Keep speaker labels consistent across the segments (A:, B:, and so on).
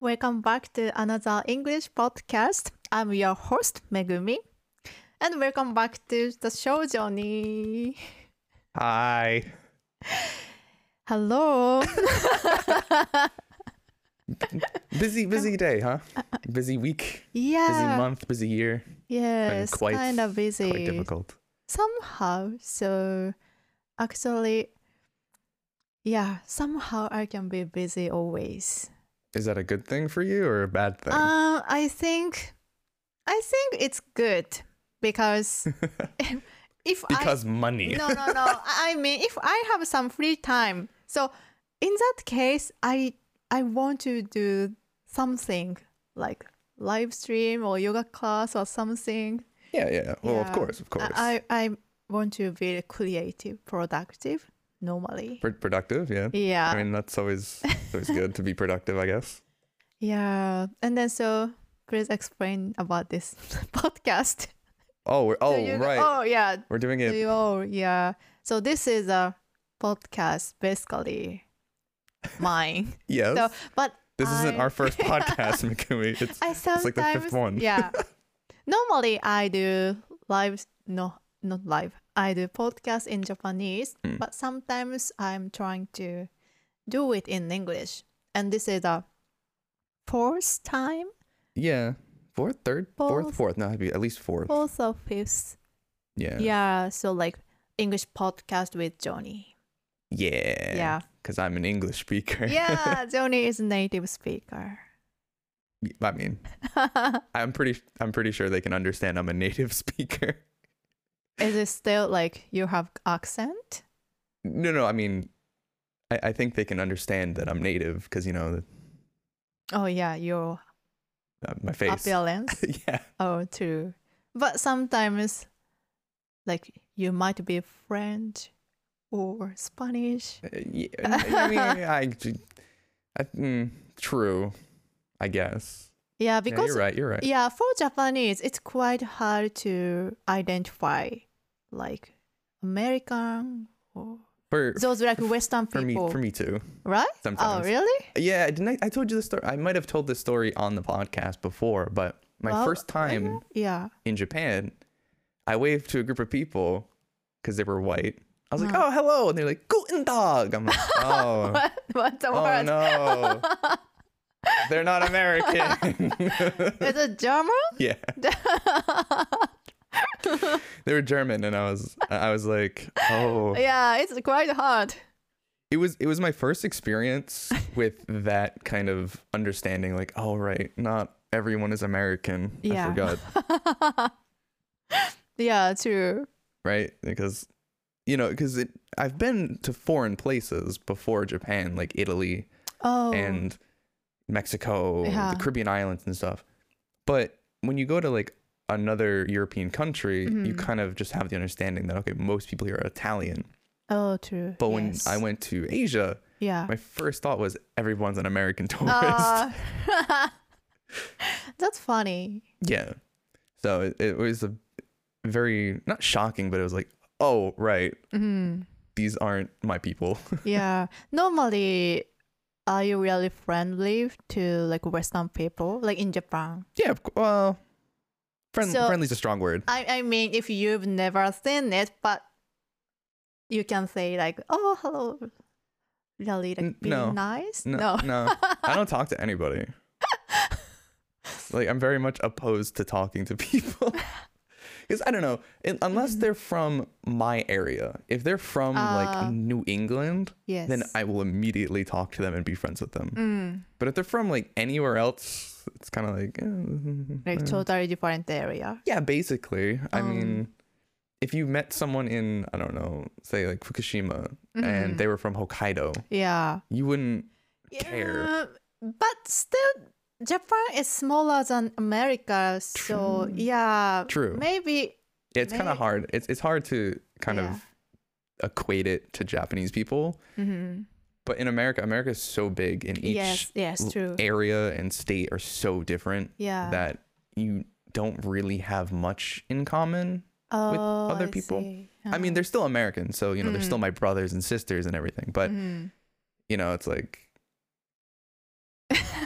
A: Welcome back to another English podcast. I'm your host, Megumi. And welcome back to the show, Johnny.
B: Hi.
A: Hello.
B: Busy day, huh? Busy week,
A: Yeah.
B: busy month, busy year.
A: Yes,
B: quite-
A: kind of busy.
B: Quite difficult.
A: Somehow. So actually, yeah, somehow I can be busy always.
B: Is that a good thing for you or a bad thing?
A: I think it's good because if
B: Because money.
A: No. I mean, if I have some free time, so in that case, I want to do something like live stream or yoga class or something.
B: Yeah. Well,
A: Yeah.
B: of course.
A: I want to be creative, productive normally.
B: Productive, yeah.
A: Yeah.
B: I mean, that's always good to be productive, I guess.
A: Yeah. And then so please explain about this podcast.
B: Oh, right.
A: Oh, yeah.
B: We're doing it.
A: Oh, yeah. So this is a podcast, basically mine.
B: Yes.
A: So, but
B: This isn't
A: I-
B: our first podcast, Mikumi.
A: I sometimes,
B: like the fifth one.
A: Yeah. Normally, I do live. No, not live. I do podcast in Japanese, but sometimes I'm trying to do it in English, and this is a fourth time,
B: Yeah. Fourth.
A: Fourth.
B: No, it'd be at least fourth.
A: fourth or fifth.
B: Yeah.
A: Yeah. So like English podcast with Johnny.
B: Yeah.
A: Yeah.
B: Because I'm an English speaker.
A: Yeah, Johnny is a native speaker.
B: I mean, I'm pretty sure they can understand I'm a native speaker.
A: Is it still like you have accent?
B: No. I mean, I think they can understand that I'm native because
A: Oh yeah, your
B: my face.
A: appearance.
B: Yeah.
A: Oh, true. But sometimes, like, you might be French or Spanish.
B: Yeah. I mean, true. I guess.
A: Yeah,
B: Yeah,
A: because
B: you're right.
A: yeah, for Japanese, it's quite hard to identify, like, American or
B: For
A: those like Western people.
B: for me too.
A: Right?
B: sometimes.
A: Oh, really?
B: Yeah, I told you the story. I might have told this story on the podcast before, but my
A: Well,
B: first time
A: Yeah.
B: in Japan, I waved to a group of people because they were white. I was like,
A: Wow.
B: "Oh, hello," and they're like, "Guten Tag." I'm like, "Oh,
A: What's the
B: oh
A: word?
B: no, they're not American."
A: Is it German?
B: Yeah, they were German, and I was like, "Oh."
A: Yeah, it's quite hard.
B: It was my first experience with that kind of understanding. Like, oh right, not everyone is American.
A: Yeah.
B: I forgot,
A: Yeah, true.
B: right? Because I've been to foreign places before Japan, like Italy
A: Oh.
B: and Mexico,
A: Yeah.
B: the Caribbean islands and stuff. But when you go to like another European country, you kind of just have the understanding that, okay, most people here are Italian.
A: Oh, true.
B: But when
A: Yes.
B: I went to Asia,
A: Yeah.
B: my first thought was everyone's an American tourist.
A: That's funny.
B: Yeah. So it was a very, not shocking, but it was like, oh, right. These aren't my people.
A: Yeah. Normally, are you really friendly to like Western people, like in Japan?
B: Yeah. Well,
A: So-
B: friendly's a strong word.
A: I mean, if you've never seen it, but you can say like, "Oh, hello," really like being
B: No.
A: nice.
B: No. I don't talk to anybody. Like, I'm very much opposed to talking to people. Because I don't know, unless they're from my area. If they're from like New England,
A: Yes.
B: then I will immediately talk to them and be friends with them. But if they're from like anywhere else, it's kind of like,
A: Like totally different area.
B: yeah, basically. I mean, if you met someone in, I don't know, say like Fukushima, and they were from Hokkaido,
A: Yeah.
B: you wouldn't care.
A: Yeah, but still, Japan is smaller than America, so yeah.
B: True.
A: Maybe.
B: It's kind of hard. It's hard to kind
A: Yeah.
B: of equate it to Japanese people. But in America is so big, and each
A: Yes, true.
B: area and state are so different
A: Yeah.
B: that you don't really have much in common with other
A: I
B: people.
A: see.
B: I mean, they're still Americans, so they're still my brothers and sisters and everything. But it's like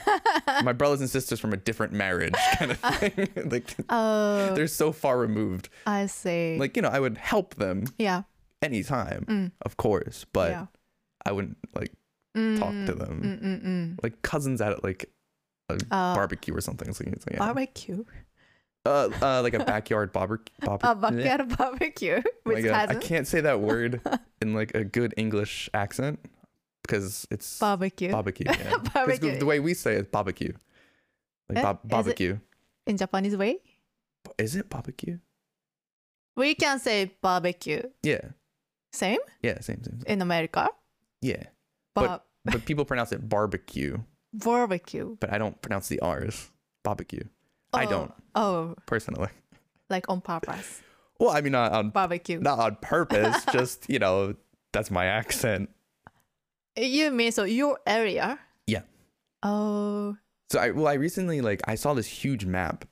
B: my brothers and sisters from a different marriage kind of thing. Like
A: Oh,
B: they're so far removed.
A: I see.
B: Like, you know, I would help them
A: yeah.
B: anytime, of course, but
A: Yeah.
B: I wouldn't like talk to them. Like cousins at like a barbecue or something. So it's like, yeah.
A: Barbecue.
B: Like a backyard barbecue.
A: A backyard barbecue with
B: Like I
A: cousins.
B: can't say that word in like a good English accent because it's
A: Barbecue.
B: barbecue. Yeah. 'Cause
A: Barbecue.
B: the way we say it is barbecue. Like
A: Is it-
B: barbecue.
A: In Japanese way,
B: Is it barbecue?
A: we can say barbecue.
B: Yeah.
A: Same
B: Same.
A: in America.
B: Yeah.
A: But
B: But people pronounce it barbecue,
A: barbecue.
B: but I don't pronounce the R's. Barbecue. I don't
A: Oh,
B: personally.
A: like on purpose.
B: Well, I mean, not on
A: Barbecue.
B: purpose. Just, you know, that's my accent.
A: You mean so your area?
B: Yeah.
A: Oh.
B: So I recently like I saw this huge map,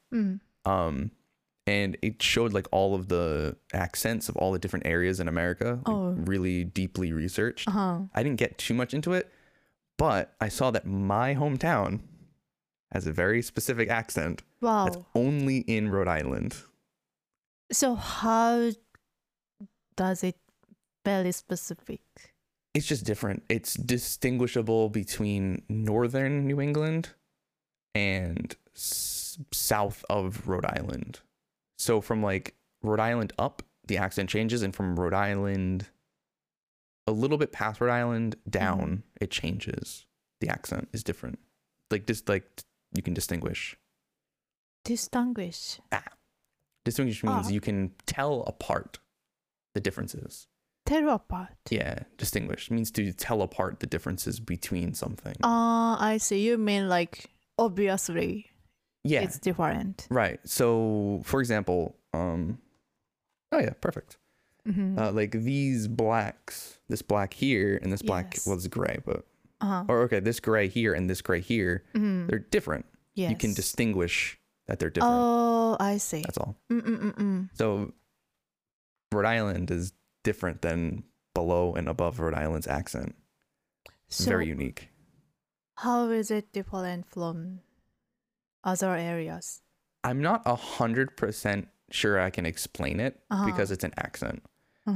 B: and it showed like all of the accents of all the different areas in America, like, really deeply researched. I didn't get too much into it, but I saw that my hometown has a very specific accent
A: Wow.
B: that's only in Rhode Island.
A: So how does it very specific?
B: It's just different. It's distinguishable between northern New England and south of Rhode Island. So from like Rhode Island up, the accent changes, and from Rhode Island a little bit past Rhode Island down, it changes. The accent is different. Like just like you can distinguish.
A: Distinguish.
B: Distinguish means you can tell apart the differences.
A: Tell apart.
B: Yeah, distinguish means to tell apart the differences between something.
A: I see. You mean like obviously
B: Yeah,
A: it's different.
B: right. So, for example, oh yeah, perfect. Like these blacks, this black here and this black,
A: Yes.
B: well, it's gray, but or okay, this gray here and this gray here, they're different.
A: Yes.
B: You can distinguish that they're different.
A: Oh, I see.
B: That's all. So, Rhode Island is different than below and above Rhode Island's accent.
A: So
B: Very unique.
A: how is it different from other areas?
B: I'm not 100% sure I can explain it because it's an accent.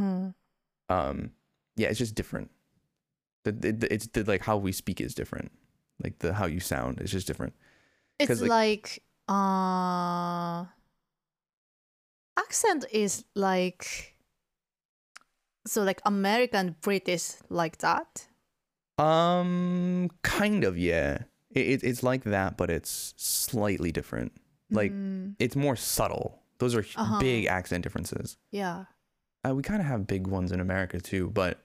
B: Yeah, it's just different. It's like how we speak is different. Like how you sound is just different.
A: It's
B: 'Cause,
A: like accent is like so like American British like that.
B: Kind of, yeah. It's like that, but it's slightly different. Like it's more subtle. Those are big accent differences.
A: Yeah.
B: We kind of have big ones in America too, but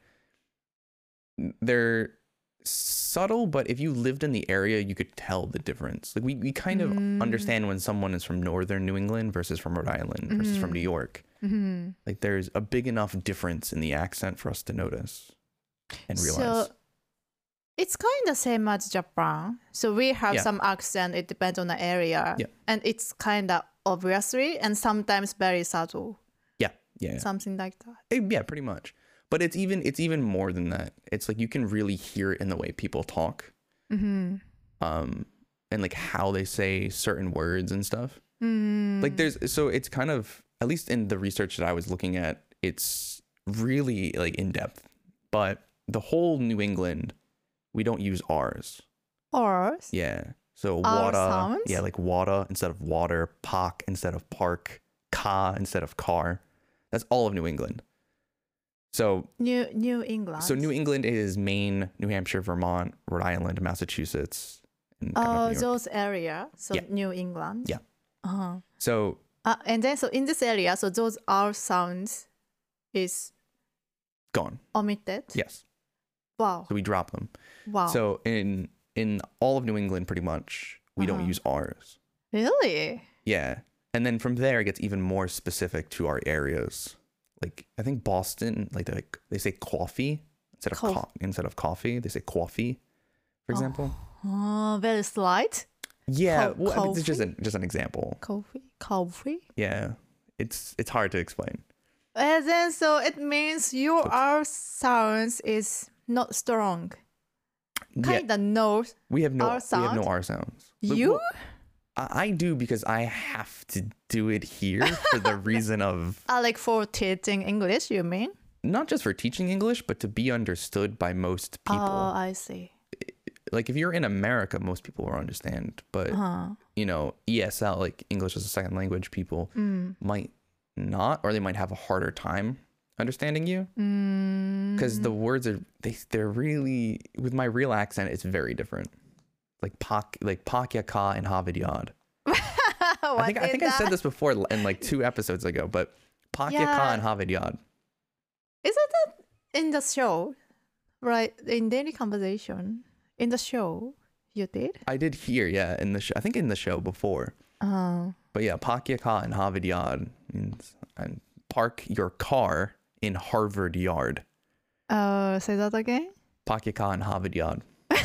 B: they're subtle. But if you lived in the area, you could tell the difference. Like we kind of understand when someone is from northern New England versus from Rhode Island versus from New York. Like there's a big enough difference in the accent for us to notice and realize.
A: So it's kind of same as Japan. So we have some accent. It depends on the area, and it's kind of obviously and sometimes very subtle.
B: Yeah.
A: Something like that.
B: Yeah, pretty much. But it's even more than that. It's like you can really hear it in the way people talk, and like how they say certain words and stuff. Like it's kind of, at least in the research that I was looking at, it's really like in depth. But the whole New England, we don't use R's.
A: R's?
B: Yeah. So
A: R
B: water.
A: sounds?
B: Yeah, like water instead of water, park instead of park, car instead of car. That's all of New England. So
A: New England.
B: So New England is Maine, New Hampshire, Vermont, Rhode Island, Massachusetts. And kind of New York.
A: Those areas. So New England.
B: Yeah. So
A: and then so in this area, so those R sounds is
B: gone.
A: omitted.
B: Yes.
A: Wow.
B: So we drop them.
A: Wow.
B: So in all of New England, pretty much, we don't use R's.
A: Really?
B: Yeah. And then from there, it gets even more specific to our areas. Like I think Boston, they say coffee instead of coffee. They say coffee, for example.
A: Oh, very slight.
B: Yeah, well, I mean, it's just an example.
A: Coffee.
B: Yeah, it's hard to explain.
A: And then so it means your R sounds is not strong. kind of know
B: We have no
A: R sound?
B: R sounds.
A: You?
B: Well, I do because I have to do it here for the reason of
A: Like for teaching English, you mean?
B: not just for teaching English, but to be understood by most people.
A: Oh, I see.
B: Like if you're in America, most people will understand. But you know, ESL, like English as a second language, people might not, or they might have a harder time understanding you because the words are they're really, with my real accent, it's very different. Like Pakya Ka and Havidyad. I think I said this before in like 2 episodes ago, but Pakya Ka and Havidyad.
A: Isn't that in the show? Right, in daily conversation. In the show, you did?
B: I did hear, yeah, in the show. I think in the show before. But yeah, Pakya Ka and Havidyad means and park your car in Harvard Yard.
A: Say that again?
B: Pakya Ka and Havidyad.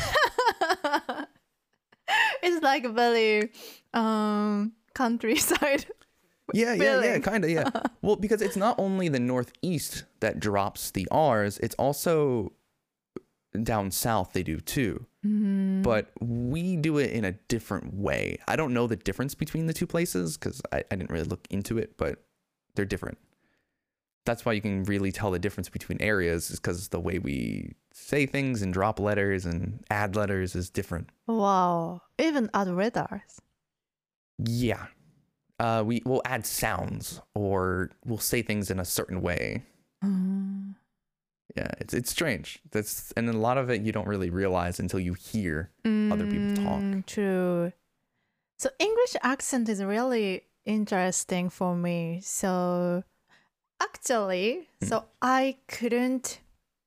A: It's like very countryside.
B: Yeah, kind of, yeah. Well, because it's not only the Northeast that drops the R's, it's also down south they do too. But we do it in a different way. I don't know the difference between the 2 places because I didn't really look into it, but they're different. That's why you can really tell the difference between areas, is because the way we say things and drop letters and add letters is different.
A: Wow. Even add letters.
B: Yeah. We'll add sounds, or we'll say things in a certain way. Yeah, it's strange. And a lot of it you don't really realize until you hear other people talk.
A: True. So English accent is really interesting for me. So actually, so I couldn't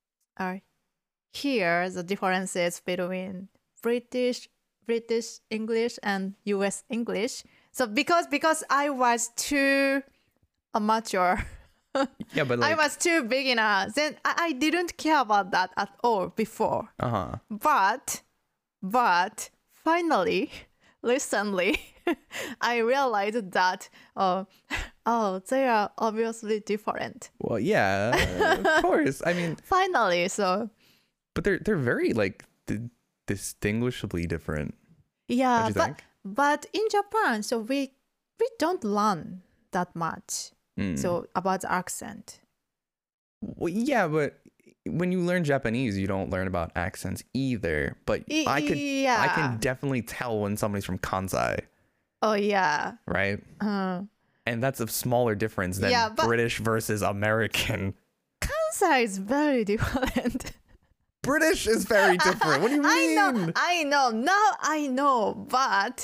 A: hear the differences between British English and US English. So because I was too amateur.
B: Yeah, but
A: I was too beginner. Then I didn't care about that at all before. But finally, recently, I realized that they are obviously different.
B: Well, yeah, of course. I mean,
A: Finally, so
B: but they're very like distinguishably different.
A: yeah,
B: Don't you think?
A: but in Japan, so we don't learn that much. So about the accent.
B: Well, yeah, but when you learn Japanese, you don't learn about accents either. But I can definitely tell when somebody's from Kansai.
A: Oh yeah.
B: Right. And that's a smaller difference than British versus American.
A: Kansai is very different.
B: British is very different. What do you mean?
A: I know. Now I know, but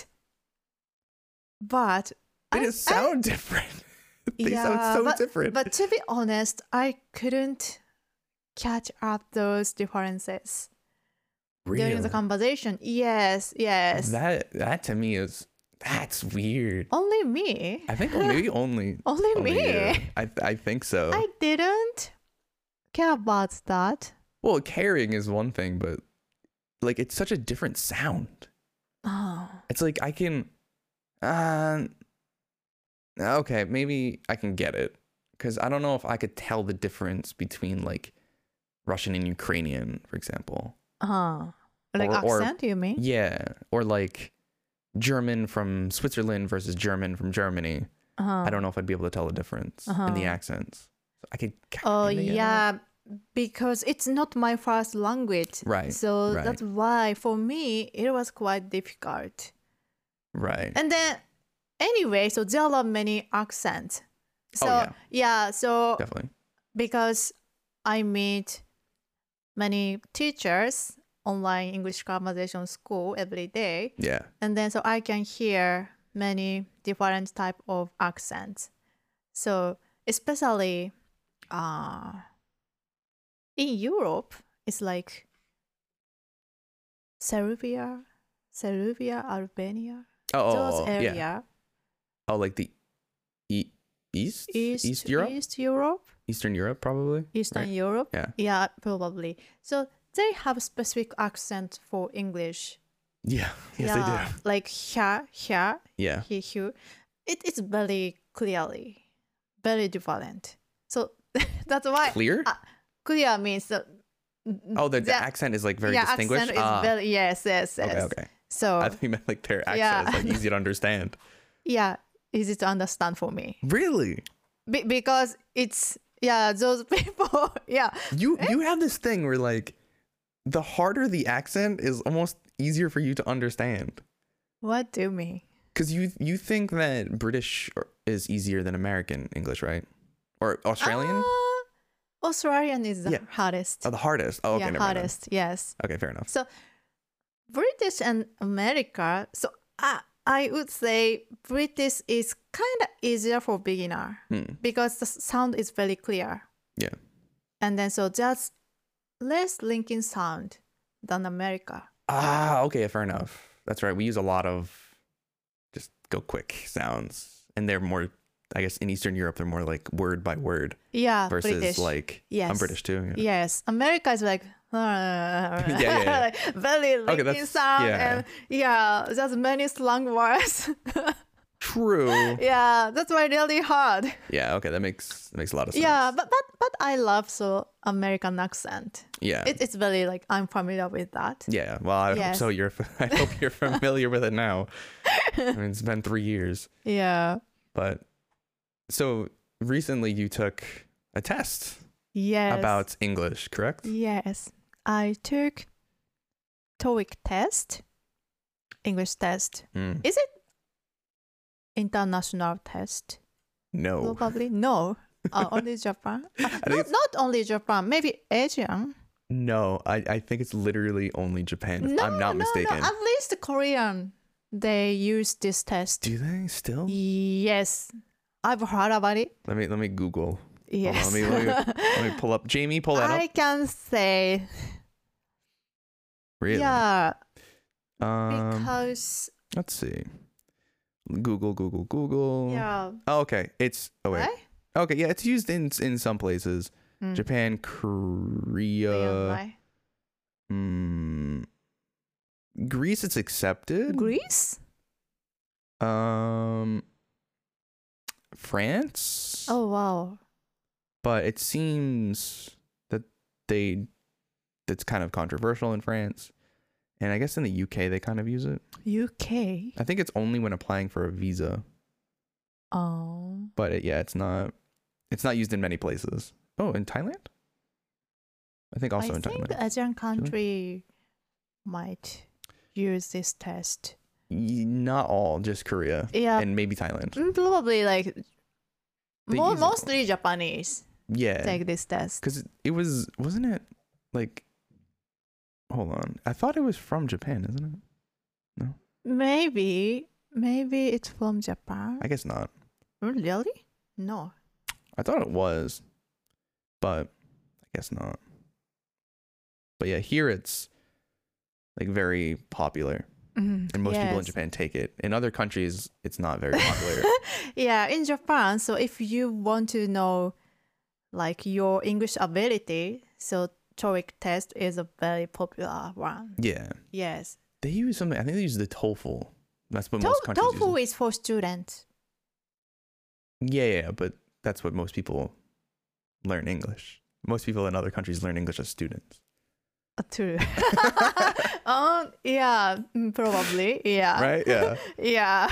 B: they just sound different. They sound so different.
A: But to be honest, I couldn't catch up those differences during the conversation. Yes.
B: That to me that's weird.
A: Only me.
B: I think maybe only
A: me.
B: You. I think so.
A: I didn't care about that.
B: Well, caring is one thing, but like it's such a different sound.
A: Oh.
B: It's like I can okay, maybe I can get it, because I don't know if I could tell the difference between like Russian and Ukrainian, for example.
A: Like accent, you mean?
B: Yeah, or like German from Switzerland versus German from Germany. I don't know if I'd be able to tell the difference in the accents. I could.
A: Yeah, because it's not my first language.
B: Right.
A: So that's why for me it was quite difficult.
B: Right.
A: And then anyway, so there are many accents. So so
B: definitely,
A: because I meet many teachers online English conversation school every day.
B: Yeah.
A: And then so I can hear many different type of accents. So especially in Europe, it's like Serbia, Albania. Those area.
B: Yeah. Oh, like the East Europe?
A: East Europe?
B: Eastern Europe, probably.
A: Eastern Europe?
B: Yeah.
A: Yeah, probably. So they have a specific accent for English.
B: Yeah. Yes, they do.
A: Like here,
B: Yeah.
A: here. It's very clearly, very different. So that's why.
B: Clear?
A: Clear means
B: Oh, the
A: that-
B: accent is like very
A: yeah,
B: distinguished.
A: accent is very yes.
B: Okay, okay.
A: So
B: I think you meant like their accent
A: Yeah.
B: is like easy to understand.
A: yeah, easy to understand for me
B: Really?
A: because it's those people
B: You have this thing where like the harder the accent is almost easier for you to understand.
A: What do you mean?
B: Because you think that British is easier than American English, right? Or Australian?
A: Australian is the
B: Yeah.
A: hardest.
B: Oh, the hardest. Oh, okay,
A: yeah,
B: never mind then.
A: hardest. Yes.
B: Okay, fair enough.
A: So British and America. So I would say British is kind of easier for beginner because the sound is very clear.
B: Yeah.
A: And then so just less linking sound than America.
B: Okay, fair enough. That's right. We use a lot of just go quick sounds, and they're more. I guess in Eastern Europe, they're more like word by word
A: Yeah,
B: versus
A: British.
B: like
A: Yes.
B: I'm British too. Yeah.
A: Yes, America is like
B: yeah.
A: like very linking
B: that's-
A: sound
B: yeah.
A: and just many slang words.
B: True.
A: Yeah, that's why really hard.
B: Yeah. Okay, that makes a lot of sense.
A: Yeah, but I love so American accent.
B: Yeah.
A: It's very like I'm familiar with that.
B: Yeah. Well, I hope
A: Yes.
B: so. I hope you're familiar with it now. I mean, it's been 3 years,
A: Yeah.
B: but so recently you took a test
A: Yes.
B: about English, correct?
A: Yes. I took TOEIC test, English test.
B: Mm.
A: Is it international test?
B: No.
A: Probably no. Only Japan.
B: think
A: Not,
B: it's-
A: not only Japan. Maybe Asian.
B: No, I think it's literally only Japan, if
A: No,
B: I'm not mistaken.
A: No. At least Korean. They use this test.
B: Do they still?
A: Yes. I've heard about it.
B: Let me Google.
A: Yes.
B: Hold on, let me pull up. Jamie, pull that
A: I
B: up.
A: can say
B: Really?
A: yeah
B: Because
A: because
B: let's see. Google.
A: yeah
B: Oh, okay. It's wait.
A: right?
B: Okay, yeah, it's used in some places.
A: Mm.
B: Japan,
A: Korean,
B: Korea,
A: right?
B: Greece. It's accepted.
A: Greece?
B: France.
A: Oh wow.
B: But it seems that that's kind of controversial in France, and I guess in the UK they kind of use it.
A: UK.
B: I think it's only when applying for a visa,
A: Oh.
B: but it's not used in many places. Oh, in Thailand? I think also
A: I
B: in
A: think
B: Thailand.
A: Asian country might use this test.
B: Not all, just Korea
A: Yeah.
B: and maybe Thailand.
A: Probably like
B: They use it.
A: mostly Japanese
B: Yeah,
A: take this test.
B: because wasn't it like? Hold on, I thought it was from Japan, isn't it?
A: Maybe it's from Japan.
B: I guess not.
A: Really? No.
B: I thought it was, but I guess not. But yeah, here it's like very popular, and most people in Japan take it. In other countries, it's not very popular.
A: Yeah, in Japan, so if you want to know like your English ability, so TOEIC test is a very popular one.
B: Yeah,
A: Yes.
B: they use something. I think they use the TOEFL. That's what most countries use.
A: TOEFL is for students.
B: Yeah, but that's what most people learn English. Most people in other countries learn English as students.
A: True. Yeah, probably. Yeah.
B: Right? Yeah.
A: Yeah.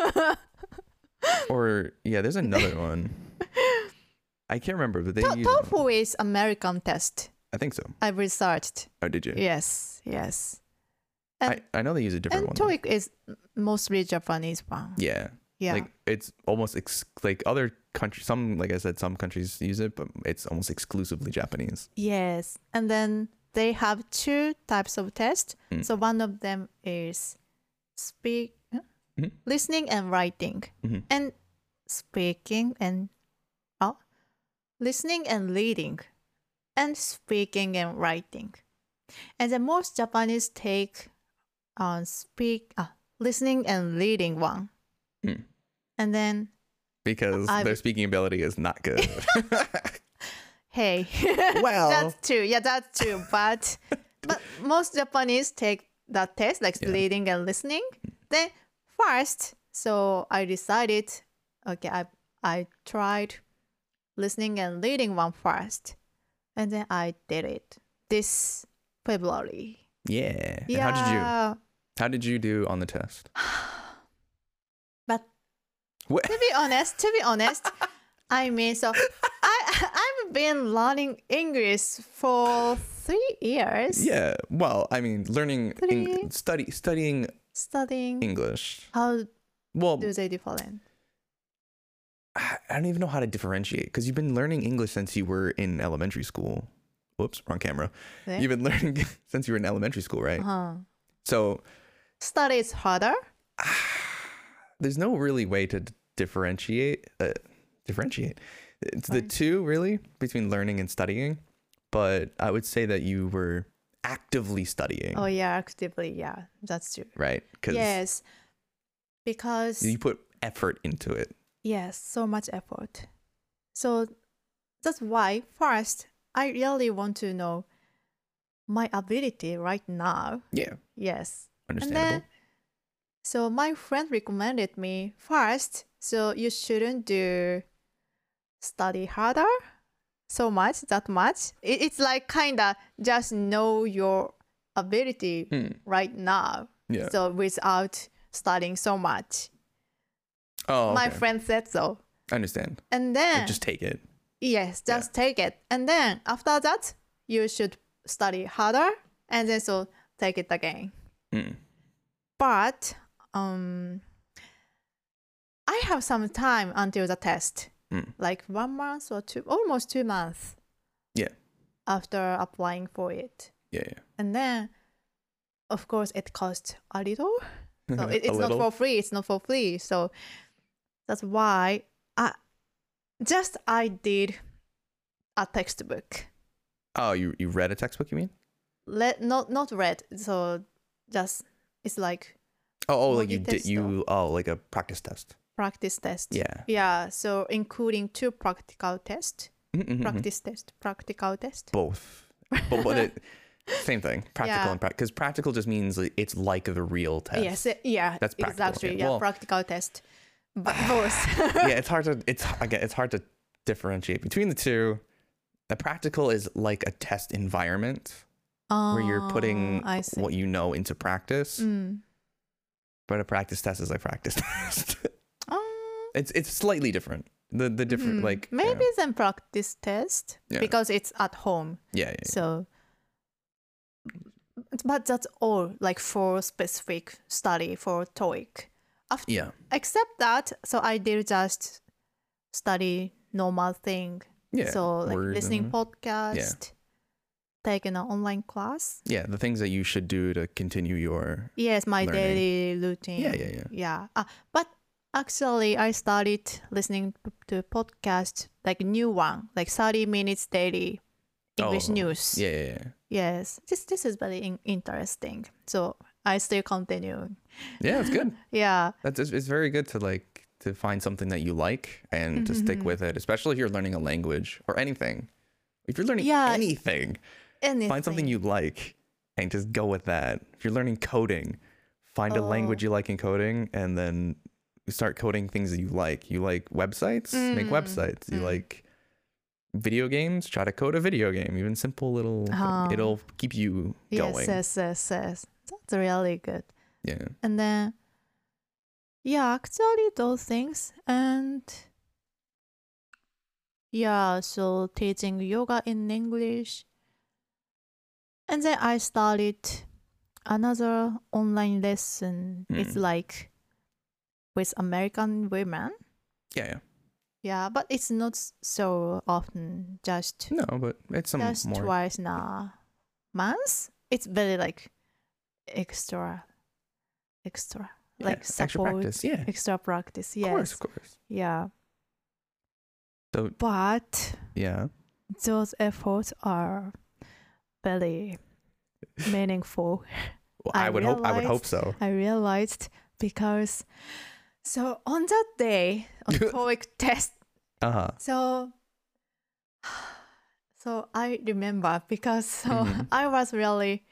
B: Or yeah, there's another one. I can't remember, but they use.
A: TOEFL is American test.
B: I think so.
A: I've researched.
B: Oh, did you?
A: Yes. And,
B: I know they use a different
A: and
B: one.
A: TOEIC is mostly Japanese one.
B: Yeah.
A: Yeah.
B: Like it's almost like other countries. Some, like I said, some countries use it, but it's almost exclusively Japanese.
A: Yes. And then they have two types of tests.
B: Mm.
A: So one of them is listening and writing.
B: Mhm.
A: And speaking and listening and reading. And speaking and writing. And then most Japanese take listening and reading one.
B: Mm.
A: And then
B: Because their speaking ability is not good.
A: hey,
B: Well.
A: that's true. Yeah, that's true. But most Japanese take that test, like
B: Yeah.
A: reading and listening. Then first, so I decided, okay, I tried listening and reading one first, and then I did it. this February.
B: Yeah. And
A: Yeah.
B: how did you do on the test?
A: But
B: What?
A: to be honest, I mean, so I've been learning English for 3 years.
B: Yeah. Well, I mean, learning
A: Three.
B: studying
A: Studying.
B: English.
A: How
B: Well,
A: do they different?
B: I don't even know how to differentiate because you've been learning English since you were in elementary school. Whoops, wrong camera.
A: Yeah.
B: You've been learning since you were in elementary school, right?
A: Uh-huh.
B: So
A: Study is harder.
B: there's no really way to differentiate. It's the
A: Right.
B: two really between learning and studying, but I would say that you were actively studying,
A: Oh yeah, actively. Yeah, that's true.
B: right? Because
A: Yes, because
B: you put effort into it.
A: yes, so much effort. So that's why first I really want to know my ability right now.
B: Yeah,
A: Yes. And
B: understandable.
A: then, so my friend recommended me first, so you shouldn't do study harder so much, that much. It's like kind of just know your ability right now.
B: Yeah.
A: So without studying so much.
B: Oh,
A: My
B: okay.
A: friend said so.
B: I understand.
A: And then,
B: Like, just take it.
A: yes, just take it. And then after that, you should study harder and then so take it again.
B: Mm.
A: But I have some time until the test, like 1 month or almost 2 months.
B: Yeah.
A: After applying for it,
B: Yeah, yeah.
A: and then, of course, it costs a little. So it's
B: A
A: not
B: little?
A: for free. It's not for free. So that's why I did a textbook.
B: Oh, you read a textbook, you mean?
A: Not read. So just it's like
B: Oh, like
A: Mogi
B: you did
A: testo.
B: like a practice test.
A: practice test.
B: Yeah.
A: Yeah. So including 2 practical tests,
B: Mhm.
A: practice test, practical test.
B: Both. But it same thing. Practical
A: Yeah.
B: and practical, because practical just means like, it's like the real test.
A: Yes. Yeah.
B: That's practical,
A: exactly.
B: yeah.
A: Yeah.
B: Well-
A: Practical test. But both.
B: Yeah, it's hard to differentiate between the two. The practical is like a test environment where you're putting
A: I see.
B: what you know into practice.
A: Mm.
B: But a practice test is like practice test.
A: Um,
B: It's slightly different. The different like
A: maybe then practice test
B: Yeah.
A: because it's at home.
B: yeah.
A: So, but that's all like for specific study for TOEIC.
B: Yeah.
A: Except that, so I did just study normal thing.
B: Yeah.
A: So like
B: Word
A: listening
B: and-
A: podcast, taking an online class.
B: Yeah, the things that you should do to continue your
A: Yes, my
B: Learning.
A: daily routine.
B: Yeah.
A: Yeah. But actually, I started listening to podcast, like new one, like 30 minutes daily English
B: Oh,
A: news.
B: Yeah.
A: Yes, this is very interesting. So I still continue.
B: Yeah, it's good.
A: Yeah.
B: It's very good to find something that you like and to stick with it, especially if you're learning a language or anything. If you're learning
A: Yeah.
B: anything, find something you like and just go with that. If you're learning coding, find a language you like in coding and then start coding things that you like. You like websites? Make websites. You like video games? Try to code a video game. Even simple little thing. It'll keep you going.
A: Yes. That's really good.
B: Yeah.
A: And then, yeah, actually those things. And yeah, so teaching yoga in English. And then I started another online lesson. It's like with American women.
B: Yeah.
A: Yeah, but it's not so often, just
B: No, but it's some more.
A: twice in a month. It's very like extra,
B: Yeah,
A: like
B: extra
A: support,
B: practice. Yeah.
A: extra practice. Yes,
B: Of course.
A: yeah.
B: So
A: But
B: yeah.
A: those efforts are very meaningful.
B: Well,
A: I
B: I would hope
A: realized-
B: so.
A: I realized because so on that day on TOEIC test,
B: Uh-huh.
A: so I remember because
B: Mm-hmm.
A: I was really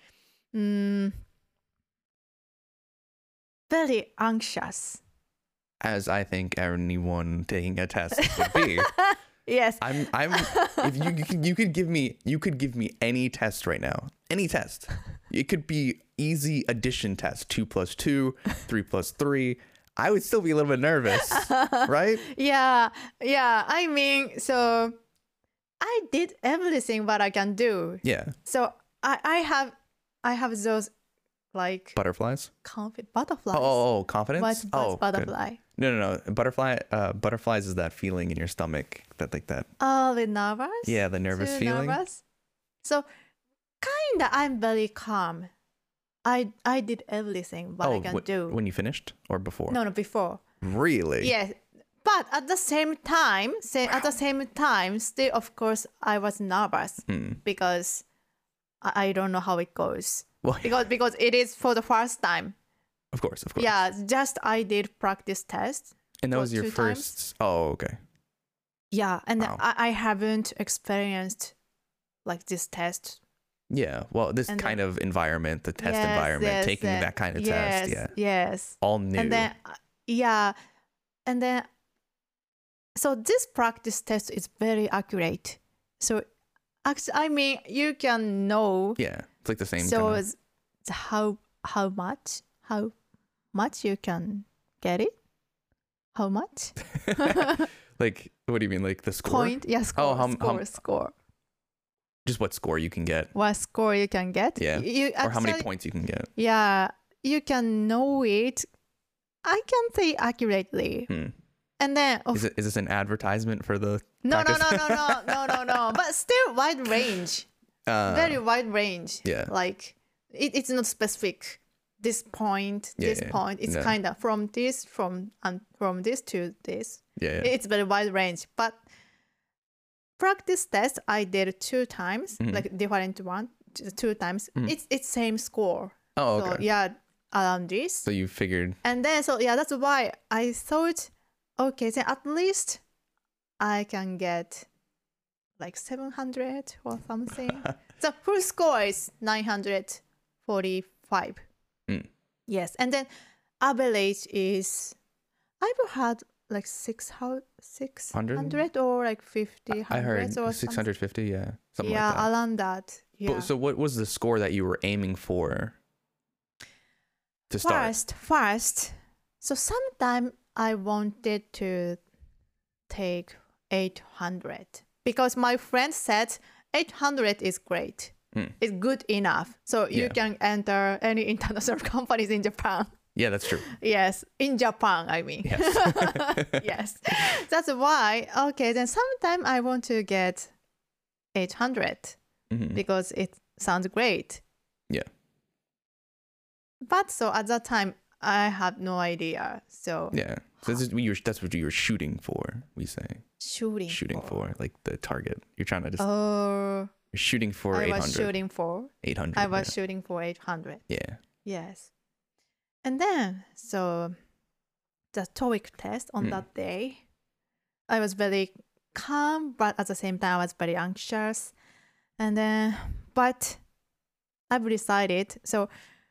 A: very anxious.
B: As I think anyone taking a test would be.
A: Yes.
B: I'm if you could give me any test right now. Any test. It could be easy addition test, 2 plus 2, 3 plus 3. I would still be a little bit nervous, right?
A: Yeah. I mean, so I did everything what I can do.
B: Yeah.
A: So I have those like
B: Butterflies?
A: butterflies.
B: Oh, confidence?
A: What's
B: good.
A: butterfly?
B: No. Butterflies is that feeling in your stomach that like that.
A: Oh, the nervous?
B: Yeah, the nervous
A: Too
B: feeling.
A: Nervous? So kinda I'm very calm. I did everything what I can do.
B: When you finished or before?
A: No, before.
B: Really?
A: Yes. But at the same time, still of course I was nervous because I don't know how it goes.
B: Well,
A: Because it is for the first time.
B: of course.
A: Yeah, just I did practice test.
B: And that
A: for
B: was your
A: 2
B: first.
A: times.
B: Oh, okay.
A: Yeah, and
B: Wow.
A: I haven't experienced like this test.
B: Yeah. Well, this
A: And
B: kind of environment, the test
A: Yes,
B: environment,
A: yes,
B: taking that kind of
A: yes,
B: test. Yeah.
A: Yes.
B: All new.
A: And then and then so this practice test is very accurate. So actually, I mean, you can know.
B: Yeah. It's like the same.
A: So
B: kinda-
A: it's how much you can get it? How much?
B: like, what do you mean? Like the score?
A: Point? Yeah, score. Score.
B: Just what score you can get.
A: What score you can get?
B: Yeah.
A: You
B: Or how many
A: actually-
B: points you can get.
A: Yeah, you can know it. I can say accurately. And then
B: Is this an advertisement for the
A: no,
B: practice?
A: no. But still wide range. Very wide range.
B: Yeah.
A: Like it's not specific. This point,
B: Yeah,
A: this
B: yeah.
A: point. It's
B: No.
A: kind of from this to this.
B: Yeah.
A: It's very wide range. But practice test I did 2 times, like different one, 2 times. It's same score.
B: Oh, okay.
A: So yeah, around this.
B: So you figured.
A: And then so yeah, that's why I thought, okay, then at least I can get like 700 or something. So full score is 945. Yes, and then average is I've had like 600 or like 50.
B: I heard
A: or
B: 650. Yeah. Something
A: yeah,
B: like that.
A: around that. Yeah.
B: But, so what was the score that you were aiming for to start?
A: First. So sometime I wanted to take 800 because my friend said 800 is great. It's good enough. So you
B: Yeah.
A: can enter any international companies in Japan.
B: Yeah, that's true.
A: Yes, in Japan, I mean.
B: Yes.
A: Yes. That's why, okay, then sometime I want to get 800 because it sounds great.
B: Yeah.
A: But so at that time, I had no idea. So
B: Yeah. So that's what you were shooting for, we say.
A: shooting
B: for like the target. You're trying to just
A: Oh,
B: you're shooting for
A: I
B: 800.
A: was shooting for
B: 800.
A: I was shooting for 800.
B: Yeah.
A: Yes. And then so the TOEIC test on that day, I was very calm, but at the same time I was very anxious. And then but I've decided so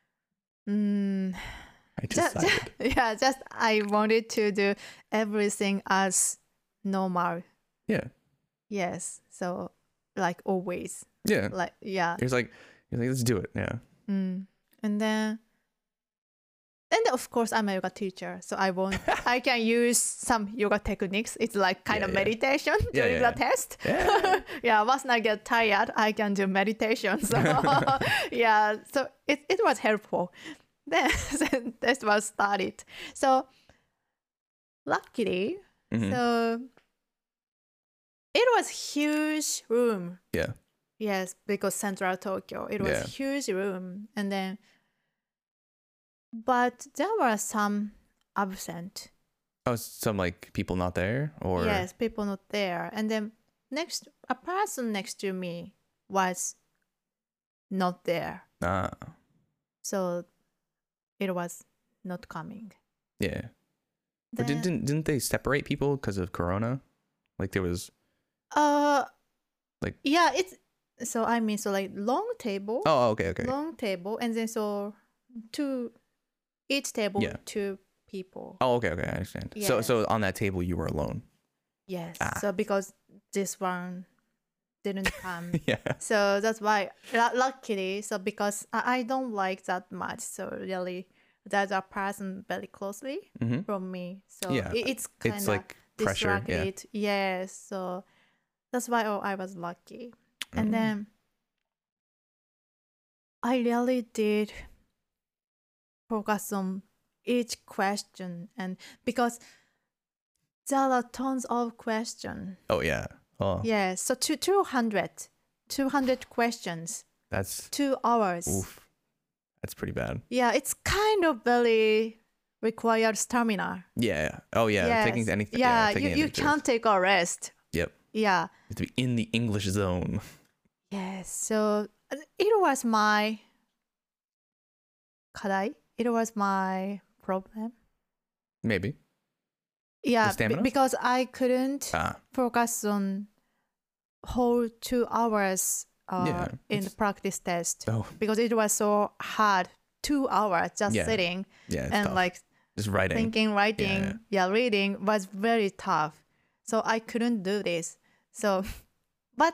B: I decided.
A: just I wanted to do everything as normal.
B: Yeah.
A: Yes. So like always.
B: Yeah.
A: Like yeah.
B: You're like let's do it. Yeah.
A: And then of course I'm a yoga teacher, so I can use some yoga techniques. It's like kind of
B: Yeah.
A: meditation during the test.
B: Yeah.
A: Yeah, once I get tired, I can do meditation. So yeah, so it was helpful. Then test was started. So luckily, so it was huge room.
B: Yeah.
A: Yes, because Central Tokyo, it was
B: Yeah.
A: huge room, and then, but there were some absent.
B: Oh, some like people not there, or
A: Yes, people not there, and then a person next to me was not there,
B: Ah,
A: so it was not coming.
B: yeah. But
A: Then,
B: didn't they separate people because of Corona? Like there was. Like-
A: yeah, it's so I mean so like long table.
B: Oh, okay.
A: Long table, and then so each table
B: Yeah.
A: 2 people.
B: Oh, okay. I understand.
A: Yes.
B: So on that table you were alone.
A: Yes.
B: Ah.
A: So because this one didn't come.
B: Yeah.
A: So that's why, luckily, so because I don't like that much. So really, there's a person very closely
B: Hmm.
A: from me. So
B: Yeah.
A: it's kind
B: It's
A: of
B: like pressure. Yeah.
A: distracted. Yes. So that's why I was lucky. And
B: Mm.
A: then I really did focus on each question, and because there are tons of questions.
B: Oh yeah. Oh,
A: Yes, so 200 questions,
B: that's
A: 2 hours.
B: oof. That's pretty bad.
A: Yeah, it's kind of very required stamina.
B: Yeah. Oh yeah.
A: Yes.
B: Taking anything.
A: Yeah,
B: taking
A: you
B: anything
A: can't take a rest.
B: Yep.
A: Yeah.
B: You have to be in the English zone.
A: Yes. So it was my 課題? It was my problem.
B: Maybe.
A: Yeah,
B: stamina?
A: because I couldn't
B: Ah.
A: focus on whole 2 hours
B: Yeah,
A: in the
B: it's-
A: practice test
B: Oh
A: because it was so hard. 2 hours just
B: Yeah.
A: sitting
B: yeah. It's
A: and
B: tough.
A: like
B: Just writing.
A: thinking, writing, reading was very tough. So I couldn't do this. So, but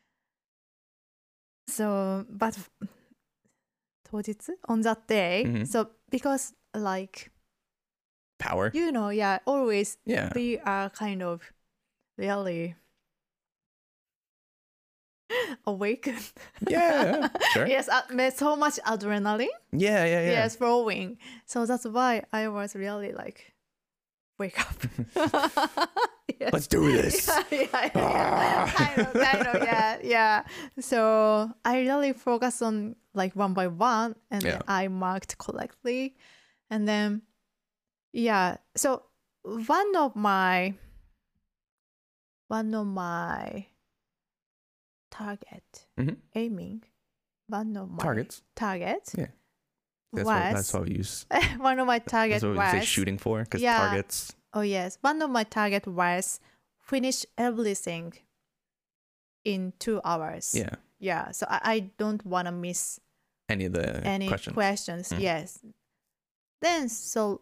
A: 当日 on that day.
B: Mhm.
A: So because like
B: Power.
A: yeah, always
B: Yeah.
A: we are kind of really awakened.
B: Yeah. Sure.
A: Yes, so much adrenaline.
B: Yeah. Yeah. Yeah.
A: Yes, flowing. So that's why I was really like, wake up. Yes.
B: Let's do this.
A: Yeah. Kind of, yeah. So I really focus on like one by one, and then
B: Yeah.
A: I marked correctly, and then yeah. So one of my target
B: Mhm.
A: aiming, one of my
B: Targets.
A: targets
B: Yeah. That's
A: was
B: what we use.
A: one of my target
B: That's what we say
A: was
B: shooting for, because
A: Yeah.
B: targets.
A: oh yes, one of my target was finish everything in 2 hours.
B: Yeah.
A: Yeah. So I don't want to miss
B: Any of the
A: any
B: questions.
A: questions.
B: Mm.
A: Yes. Then so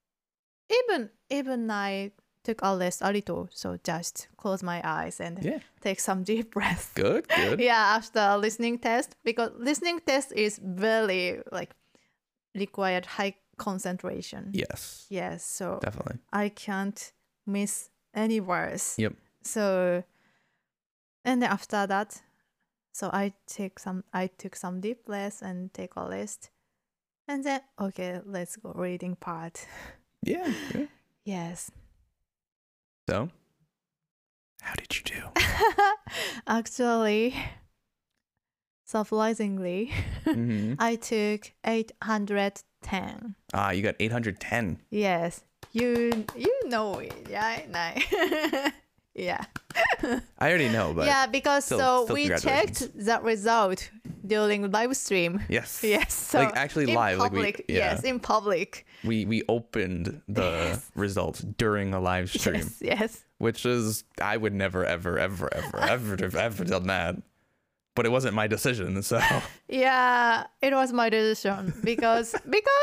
A: even I took a little, so just close my eyes and
B: Yeah.
A: take some deep breath.
B: Good. Good.
A: Yeah, after listening test, because listening test is very like required high concentration.
B: Yes.
A: Yes, so
B: Definitely.
A: I can't miss any words.
B: Yep.
A: So, and then after that, so I took some deep breaths and take a rest, and then okay, let's go reading part.
B: Yeah. Yeah.
A: Yes.
B: So, how did you do?
A: Actually, surprisingly,
B: Mhm.
A: I took 810.
B: Ah, you got 810.
A: Yes, you know it, yeah, nice. Yeah.
B: I already know, but
A: Yeah, because
B: still
A: we
B: congratulations.
A: checked the result during live stream.
B: yes.
A: Yes, so
B: Like, actually
A: in
B: live, like,
A: public.
B: yeah.
A: Yes, in public.
B: We opened the results during a live stream,
A: Yes.
B: which is I would never ever have ever done that. But it wasn't my decision, so
A: Yeah, it was my decision because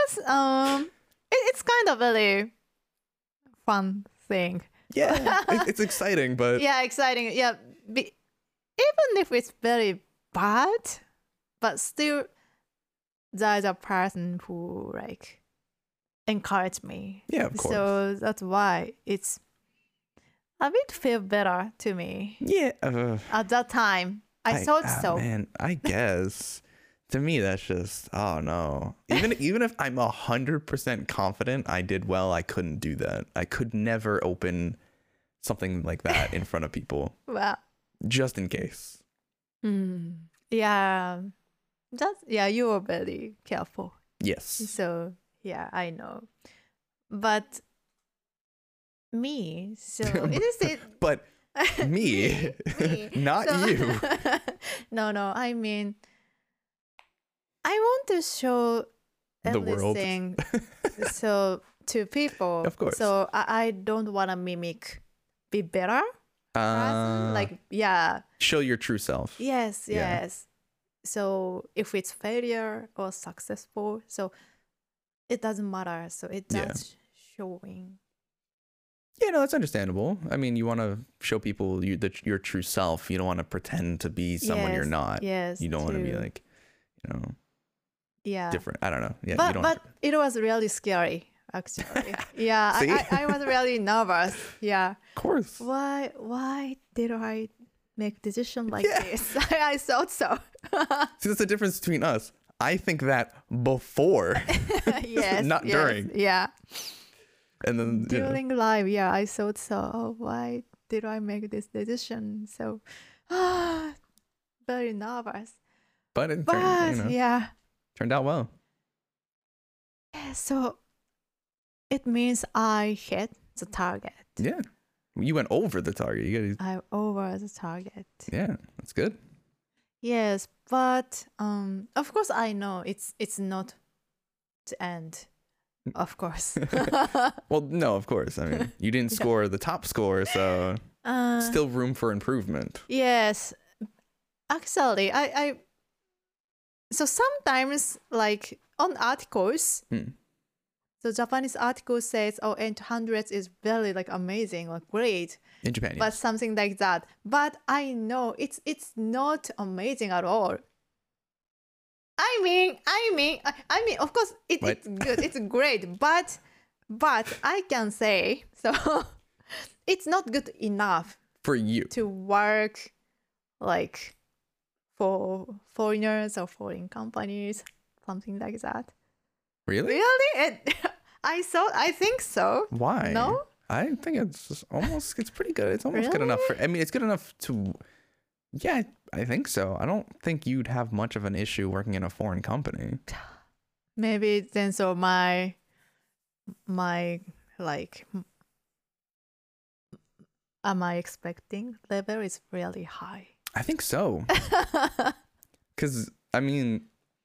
A: it's kind of really fun thing.
B: yeah, it's exciting, but
A: Yeah, exciting. Yeah, even if it's very bad, but still, there's a person who like encouraged me.
B: yeah, of course.
A: So that's why it's a bit feel better to me
B: Yeah,
A: at that time. I thought so.
B: Man, I guess to me that's just oh no. Even if I'm 100% confident I did well, I couldn't do that. I could never open something like that in front of people,
A: Well,
B: just in case.
A: yeah, you were very careful.
B: Yes.
A: So yeah, I know, but me. So it is it.
B: But me,
A: Me.
B: not
A: So-
B: you.
A: No. I mean, I want to show
B: The world.
A: everything so to people.
B: Of course.
A: So I don't want to mimic be better person. Like yeah,
B: show your true self.
A: yes.
B: Yeah.
A: So if it's failure or successful, so it doesn't matter. So it's
B: Yeah.
A: just showing.
B: Yeah, no, that's understandable. I mean, you want to show people your true self. You don't want to pretend to be someone you're not.
A: Yes.
B: You don't want to be like,
A: yeah.
B: different. I don't know. Yeah,
A: But
B: you don't.
A: but it was really scary actually. Yeah,
B: See?
A: I was really nervous. Yeah.
B: Of course.
A: Why did I make decision like
B: Yeah.
A: this? I thought so.
B: See, that's the difference between us. I think that before,
A: Yes.
B: Not
A: yes,
B: during.
A: Yeah.
B: and then you know.
A: During live, yeah, I thought so. Oh, why did I make this decision? So very nervous.
B: But it
A: But
B: turned, turned out well.
A: yeah, so it means I hit the target.
B: Yeah, you went over the target. You got
A: I over the target.
B: yeah, that's good.
A: Yes, but of course I know it's not the end. Of course.
B: Well, no, of course. I mean, you didn't score the top score, so still room for improvement.
A: Yes. Actually, I so sometimes like on articles, so Japanese article says, oh, 800 is very like amazing, like great,
B: In Japan,
A: but
B: yes.
A: something like that. But I know it's not amazing at all. I mean, of course,
B: What?
A: it's good, it's great, but I can say so. It's not good enough
B: For you.
A: to work like for foreigners or foreign companies, something like that.
B: Really?
A: Really? I think so.
B: Why?
A: No?
B: I think it's pretty good. It's almost good enough
A: Really?
B: I mean, it's good enough to, yeah, I think so. I don't think you'd have much of an issue working in a foreign company.
A: Maybe then so my like am I expecting level is really high.
B: I think so. Because, I mean,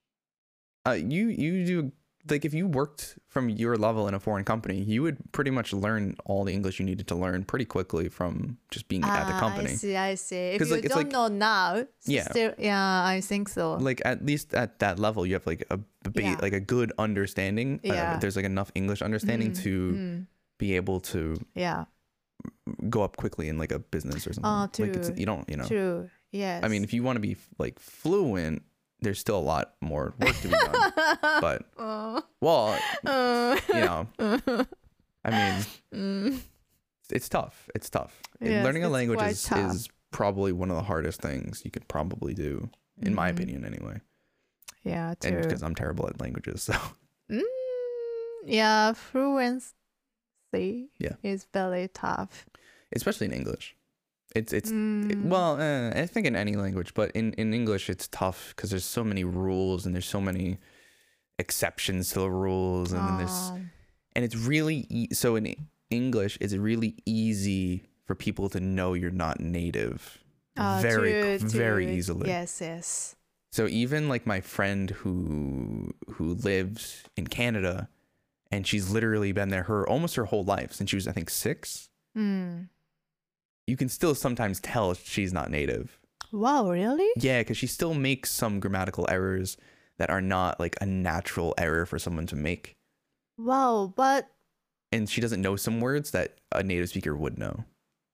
B: you do, like, if you worked from your level in a foreign company, you would pretty much learn all the English you needed to learn pretty quickly from just being at the company.
A: I see. If
B: 'Cause,
A: you
B: like, it's
A: don't
B: like-
A: know now,
B: Yeah.
A: still, yeah, I think so.
B: Like, at least at that level, you have like
A: Yeah.
B: like a good understanding.
A: Yeah.
B: There's like enough English understanding to be able to
A: Yeah,
B: go up quickly in like a business or something. Like,
A: true.
B: you don't,
A: true. Yes.
B: I mean, if you want to be like fluent, there's still a lot more work to be done. But well, I mean, it's tough. It's tough.
A: Yes,
B: Learning a
A: it's
B: language
A: quite
B: is
A: tough.
B: probably one of the hardest things you could probably do, in my opinion, anyway.
A: Yeah,
B: And
A: true.
B: because I'm terrible at languages, so
A: Yeah, fluency
B: Yeah.
A: is very tough.
B: especially in English. Well, I think in any language, but in English it's tough because there's so many rules and there's so many exceptions to the rules, and then and it's really so in English it's really easy for people to know you're not native very easily.
A: Yes.
B: So even like my friend who lives in Canada, and she's literally been there almost her whole life since she was, I think, 6. You can still sometimes tell she's not native.
A: Wow, really?
B: Yeah, because she still makes some grammatical errors that are not like a natural error for someone to make.
A: Wow, but
B: And she doesn't know some words that a native speaker would know.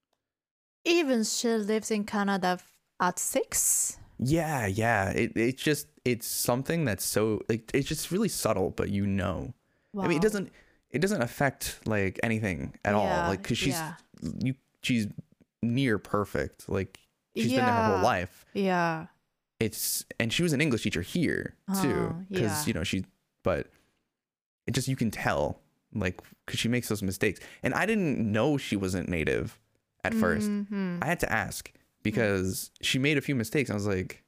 A: even she lives in Canada at 6?
B: Yeah. It's something that's so like, it's just really subtle, but you know.
A: Wow.
B: I mean, it doesn't affect like anything at all. Like, cause she's near perfect. Like, she's been there her whole life.
A: Yeah.
B: And she was an English teacher here too, because but it just, you can tell, like, because she makes those mistakes, and I didn't know she wasn't native at first. I had to ask because she made a few mistakes. I was like,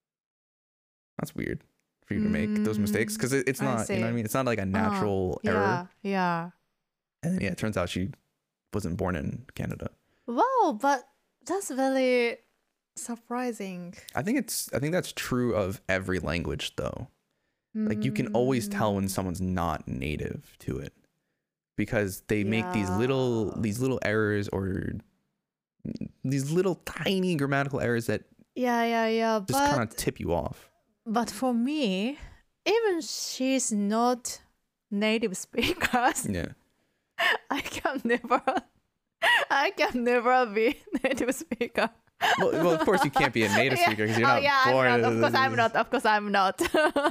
B: that's weird for you to make those mistakes, because it's not, you know what I mean? It's not like a natural error.
A: Yeah.
B: And then, it turns out she wasn't born in Canada.
A: Wow, but that's very surprising.
B: I think that's true of every language though. Like, you can always tell when someone's not native to it, because they make these little errors, or these little tiny grammatical errors that
A: Yeah.
B: just kind of tip you off.
A: But for me, even she's not native speakers,
B: Yeah.
A: I can never I can never be native speaker.
B: Well, of course you can't be a native speaker because you're not born.
A: I'm not. Of course I'm not. Of course I'm not.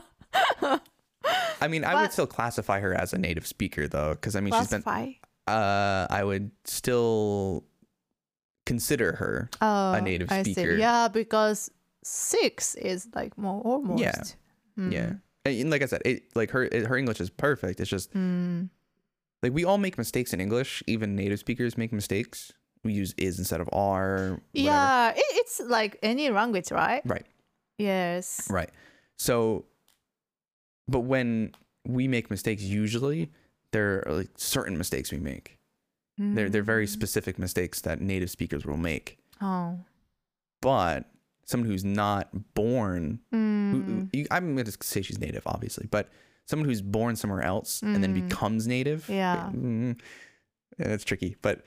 B: I mean, I would still classify her as a native speaker though, because I mean she's been. I would still consider her a native speaker.
A: Yeah, because 6 is like more almost.
B: Yeah, yeah. And like I said, her English is perfect. It's just like we all make mistakes in English. Even native speakers make mistakes. We use is instead of are. Whatever.
A: Yeah, it's like any language, right?
B: Right.
A: Yes.
B: Right. So, but when we make mistakes, usually there are like certain mistakes we make. They're very specific mistakes that native speakers will make.
A: Oh.
B: But someone who's not born, I'm going to say she's native, obviously, but someone who's born somewhere else and then becomes native, it's tricky, but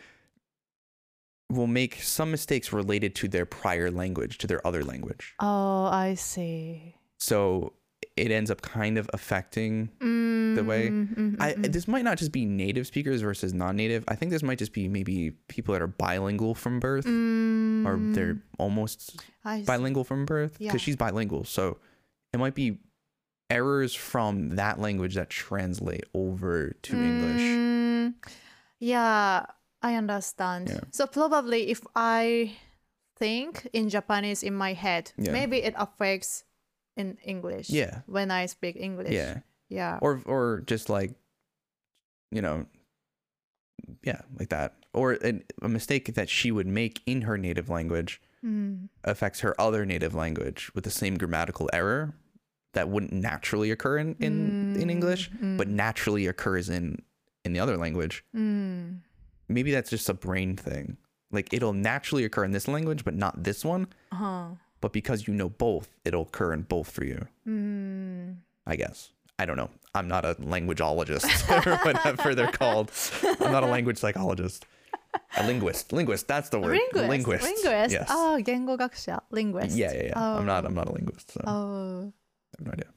B: will make some mistakes related to their prior language, to their other language.
A: Oh, I see.
B: So it ends up kind of affecting the way. This might not just be native speakers versus non-native. I think this might just be maybe people that are bilingual from birth, or they're almost bilingual from birth, because she's bilingual. So it might be errors from that language that translate over to English.
A: Yeah, I understand.
B: Yeah.
A: So probably if I think in Japanese in my head, maybe it affects in English.
B: Yeah.
A: When I speak English.
B: Yeah.
A: Yeah.
B: Or just like, like that. Or a mistake that she would make in her native language affects her other native language with the same grammatical error that wouldn't naturally occur in English, but naturally occurs in the other language. Maybe that's just a brain thing. Like it'll naturally occur in this language, but not this one. But because you know both, it'll occur in both for you. I guess. I don't know. I'm not a languageologist or whatever they're called. I'm not a language psychologist. A linguist. Linguist. That's the word.
A: Linguist.
B: Yes.
A: Oh, 言語学者. Linguist.
B: Yeah.
A: Oh.
B: I'm not a linguist. So
A: Oh.
B: I have no idea.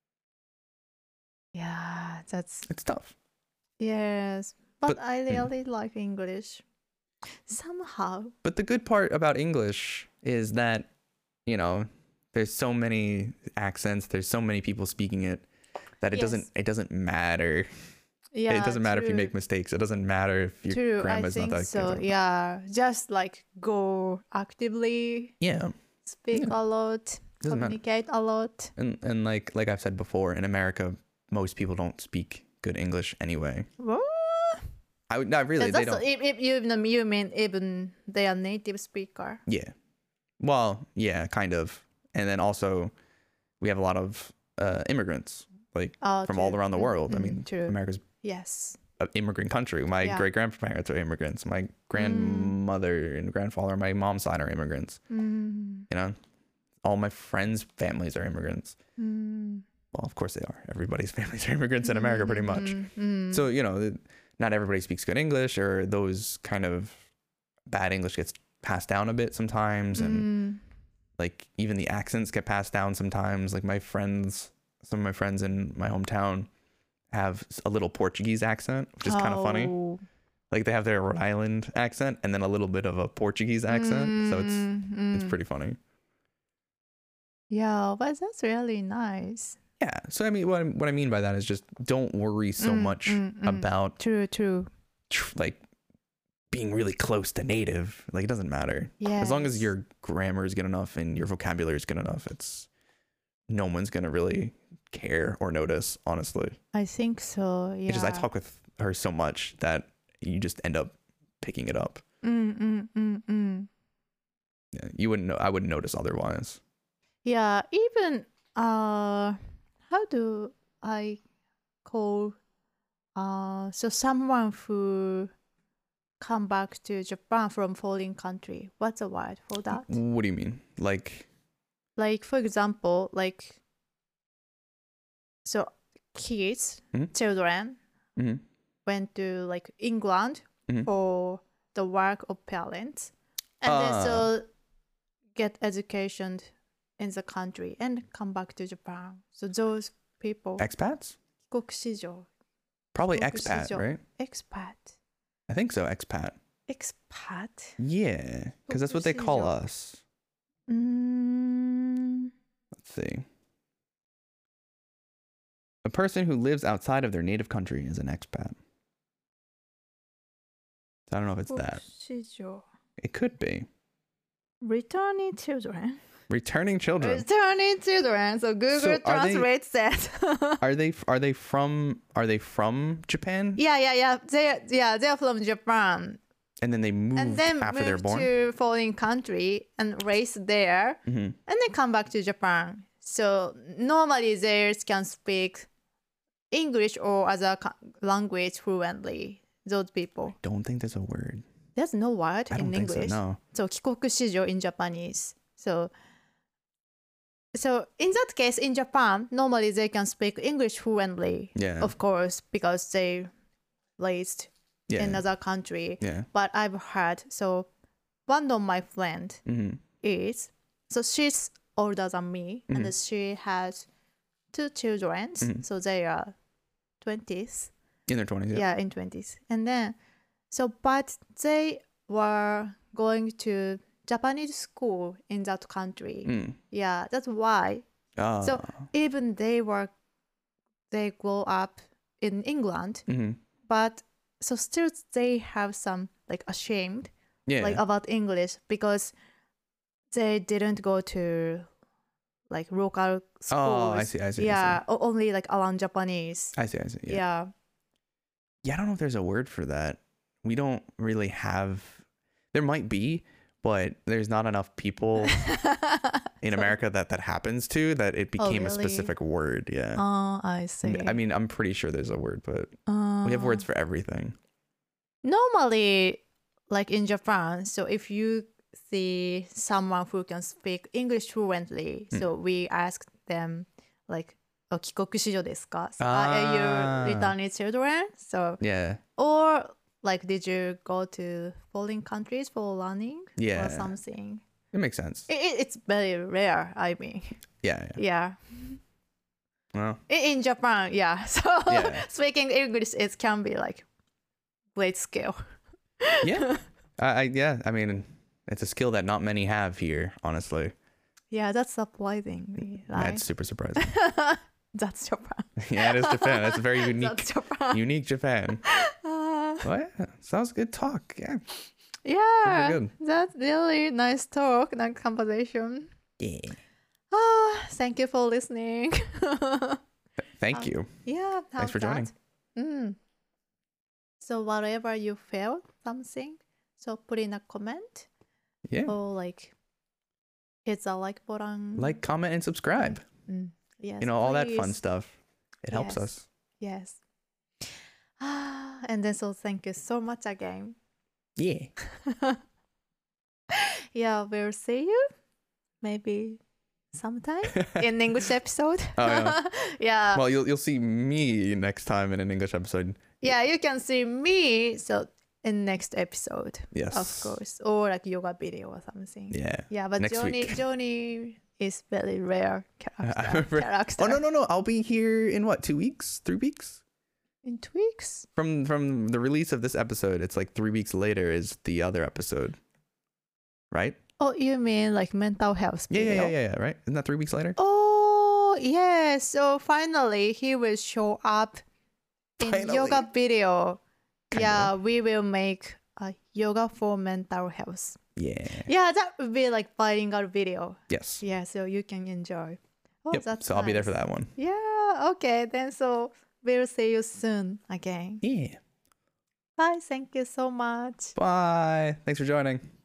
A: Yeah,
B: it's tough.
A: Yes. But I really like English. Somehow.
B: But the good part about English is that, there's so many accents, there's so many people speaking it that it doesn't matter.
A: Yeah,
B: it doesn't matter if you make mistakes. It doesn't matter if your grammar's not that good.
A: Yeah, just like go actively.
B: Yeah.
A: Speak a lot, communicate a lot.
B: And like I've said before, in America, most people don't speak good English anyway.
A: What?
B: Not really. They don't.
A: If you mean even they are native speaker.
B: Yeah. Well, yeah, kind of. And then also, we have a lot of immigrants, like from all around the world. I mean, America's an immigrant country. My great grandparents are immigrants. My grandmother and grandfather on my mom's side are immigrants. All my friends' families are immigrants. Well, of course they are. Everybody's families are immigrants in America, pretty much. So not everybody speaks good English, or those kind of bad English gets passed down a bit sometimes, and like even the accents get passed down sometimes. Like some of my friends in my hometown have a little Portuguese accent, which is kind of funny. Like they have their Rhode Island accent and then a little bit of a Portuguese accent, so it's pretty funny.
A: Yeah, but that's really nice.
B: Yeah, so I mean, what I mean by that is just don't worry so much about
A: true
B: like being really close to native. Like it doesn't matter.
A: Yeah.
B: As long as your grammar is good enough and your vocabulary is good enough, no one's gonna really care or notice, honestly.
A: I think so. Yeah.
B: It's just I talk with her so much that you just end up picking it up. Yeah, you wouldn't know. I wouldn't notice otherwise.
A: Yeah, even how do I call so someone who come back to Japan from foreign country? What's the word for that?
B: What do you mean? Like
A: for example, so kids, children went to like England for the work of parents, and then so get education in the country and come back to Japan. So those people.
B: Expats?
A: 帰国子女.
B: Probably expat, right?
A: Expat.
B: I think so, expat.
A: Expat?
B: Yeah, because that's what they call
A: 帰国子女。
B: us.
A: Mm,
B: Let's see. A person who lives outside of their native country is an expat. So I don't know if it's that.
A: 帰国子女
B: It could be.
A: Returning children.
B: Returning children.
A: Returning children. So Google
B: So are they-
A: translates that.
B: Are they from Japan?
A: yeah. They're from Japan.
B: And then they move
A: And then
B: after they're
A: move
B: born?
A: to foreign country and raise there,
B: Mhm.
A: and then come back to Japan. So normally they can speak English or other language fluently. Those people.
B: Don't think there's a word.
A: There's no word
B: I don't
A: in
B: think
A: English.
B: so, no.
A: So 帰国子女 in Japanese. So in that case, in Japan, normally they can speak English fluently,
B: Yeah.
A: of course, because they raised
B: Yeah.
A: in another country.
B: Yeah.
A: But I've heard, so one of my friend
B: Mm-hmm.
A: is, so she's older than me,
B: Mhm.
A: and she has 2 children,
B: Mhm.
A: so they are 20s.
B: In their 20s.
A: Yeah, in 20s. And then, but they were going to Japanese school in that country.
B: Mm.
A: Yeah, that's why.
B: Ah.
A: So even they grow up in England,
B: Mhm.
A: but so still they have some like ashamed
B: Yeah.
A: like about English because they didn't go to like local schools.
B: Oh, I see.
A: Yeah, only like around Japanese.
B: I see.
A: Yeah.
B: Yeah, I don't know if there's a word for that. We don't really have. There might be, but there's not enough people in America that happens to that it became a
A: really?
B: specific word. Yeah.
A: Oh, I see.
B: I mean, I'm pretty sure there's a word, but we have words for everything.
A: Normally, like in Japan, so if you see someone who can speak English fluently, so we ask them like, 帰国子女ですか? So, are you returning children? So,
B: Yeah.
A: or like, did you go to foreign countries for learning
B: Yeah.
A: or something?
B: It makes sense.
A: It's very rare, I mean.
B: Yeah.
A: Yeah.
B: Well,
A: In Japan, yeah. So
B: Yeah.
A: speaking English, it can be like great skill.
B: yeah. I mean, it's a skill that not many have here, honestly.
A: Yeah, that's surprising, right?
B: That's super surprising.
A: That's Japan.
B: Yeah, it is Japan. That's a very unique,
A: That's Japan.
B: unique Japan. Well, yeah, sounds good talk. Yeah.
A: Yeah,
B: good.
A: that's really nice talk, nice conversation.
B: Yeah.
A: Thank you for listening.
B: Thank you.
A: Yeah,
B: Thanks for joining.
A: So whatever you felt something, so put in a comment
B: Yeah.
A: or like hit the like button.
B: Like, comment, and subscribe.
A: Yes,
B: You know, all that fun
A: please.
B: stuff. It helps
A: Yes.
B: us.
A: Yes. And then so thank you so much again.
B: Yeah.
A: Yeah, we'll see you maybe sometime in English episode.
B: Oh, yeah.
A: Yeah.
B: Well, you'll see me next time in an English episode.
A: Yeah, you can see me so in next episode.
B: Yes.
A: Of course. Or like yoga video or something.
B: Yeah.
A: Yeah, but
B: Next week.
A: Johnny is very rare character.
B: Oh no! I'll be here in what, 2 weeks, 3 weeks
A: In 2 weeks?
B: from the release of this episode. It's like 3 weeks later is the other episode, right?
A: Oh, you mean like mental health video?
B: Yeah. Right? Isn't that 3 weeks later?
A: Oh, yeah. So finally, he will show up in
B: Finally.
A: yoga video.
B: Kinda.
A: Yeah, we will make a yoga for mental health.
B: Yeah.
A: Yeah, that would be like bilingual video.
B: Yes.
A: Yeah, so you can enjoy. Oh,
B: Yep.
A: that's
B: So I'll be there
A: nice.
B: for that one.
A: Yeah, okay. Then so we'll see you soon again.
B: Yeah.
A: Bye. Thank you so much.
B: Bye. Thanks for joining.